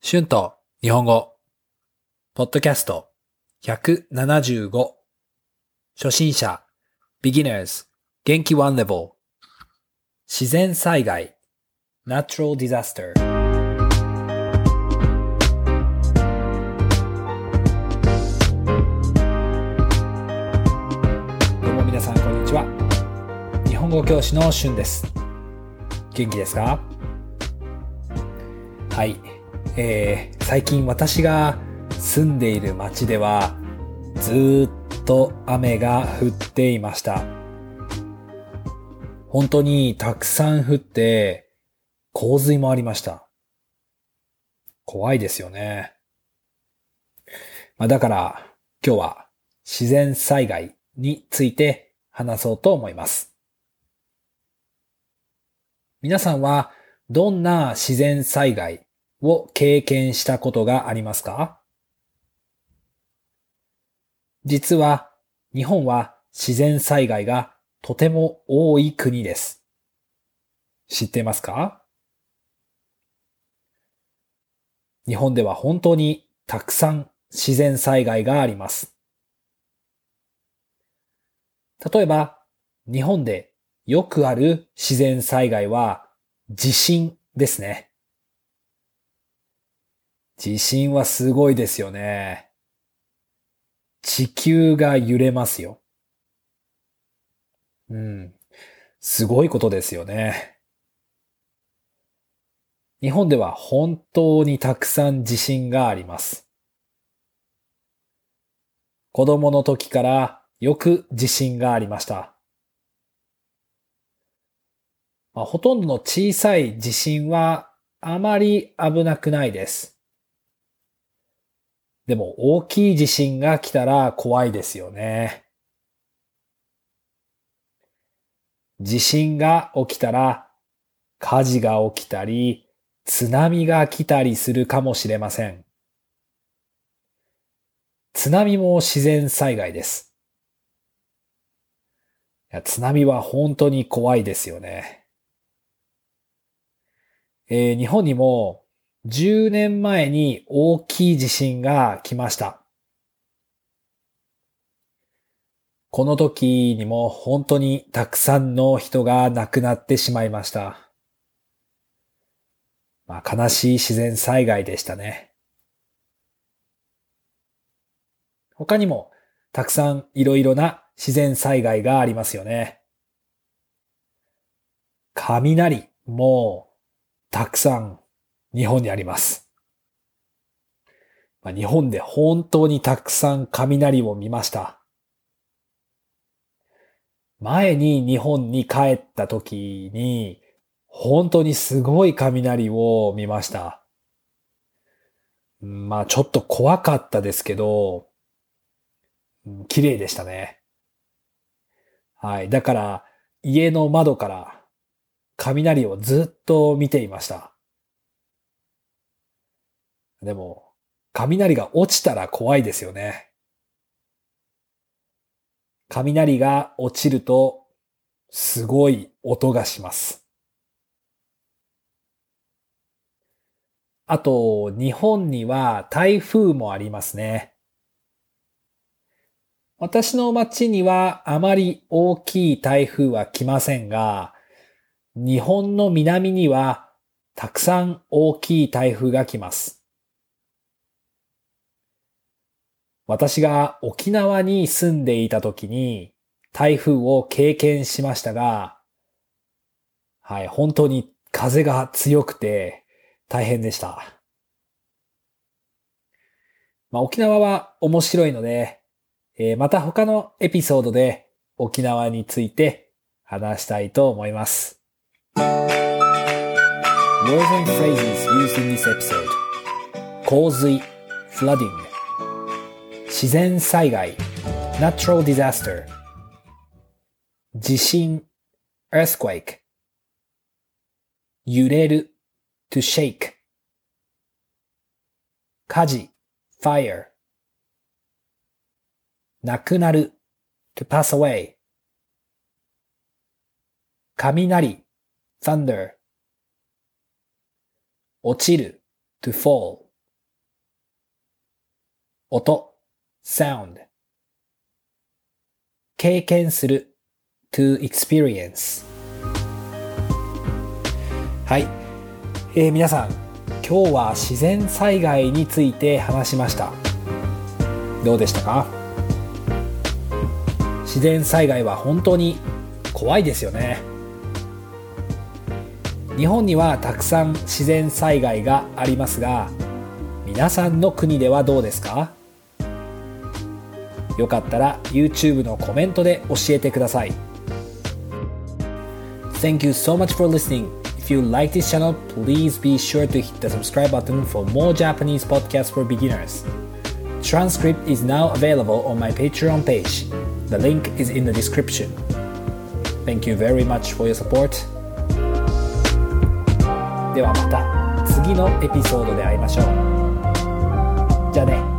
シュンと日本語、ポッドキャスト175、初心者、beginners、元気 one level、自然災害、natural disaster。どうも皆さんこんにちは。日本語教師のシュンです。元気ですか？はい。最近私が住んでいる町ではずっと雨が降っていました。本当にたくさん降って洪水もありました。怖いですよね。だから今日は自然災害について話そうと思います。皆さんはどんな自然災害を経験したことがありますか？実は日本は自然災害がとても多い国です。知っていますか？日本では本当にたくさん自然災害があります。例えば、日本でよくある自然災害は地震ですね。地震はすごいですよね。地球が揺れますよ。すごいことですよね。日本では本当にたくさん地震があります。子供の時からよく地震がありました。ほとんどの小さい地震はあまり危なくないです。でも大きい地震が来たら怖いですよね。地震が起きたら火事が起きたり津波が来たりするかもしれません。津波も自然災害です。津波は本当に怖いですよね。日本にも10年前に大きい地震が来ました。この時にも本当にたくさんの人が亡くなってしまいました。悲しい自然災害でしたね。他にもたくさんいろいろな自然災害がありますよね。雷もたくさん日本にあります。日本で本当にたくさん雷を見ました。前に日本に帰った時に本当にすごい雷を見ました。ちょっと怖かったですけど、綺麗でしたね。はい。だから家の窓から雷をずっと見ていました。でも、雷が落ちたら怖いですよね。雷が落ちると、すごい音がします。あと、日本には台風もありますね。私の町にはあまり大きい台風は来ませんが、日本の南にはたくさん大きい台風が来ます。私が沖縄に住んでいた時に台風を経験しましたが、はい、本当に風が強くて大変でした。沖縄は面白いので、また他のエピソードで沖縄について話したいと思います。Words and phrases used in this episode: 洪水 flooding、 自然災害 natural disaster、 地震 earthquake、 揺れる to shake、 火事 fire、 亡くなる to pass away、 雷 thunder、 落ちる to fall、 音 sound 経験する to experience はい、皆さん今日は自然災害について話しました。どうでしたか？自然災害は本当に怖いですよね。日本にはたくさん自然災害がありますが、皆さんの国ではどうですか？よかったら YouTube のコメントで教えてください。Thank you so much for listening. If you like this channel, please be sure to hit the subscribe button for more Japanese podcasts for beginners. Transcript is now available on my Patreon page. The link is in the description. Thank you very much for your support. ではまた次のエピソードで会いましょう。じゃあね。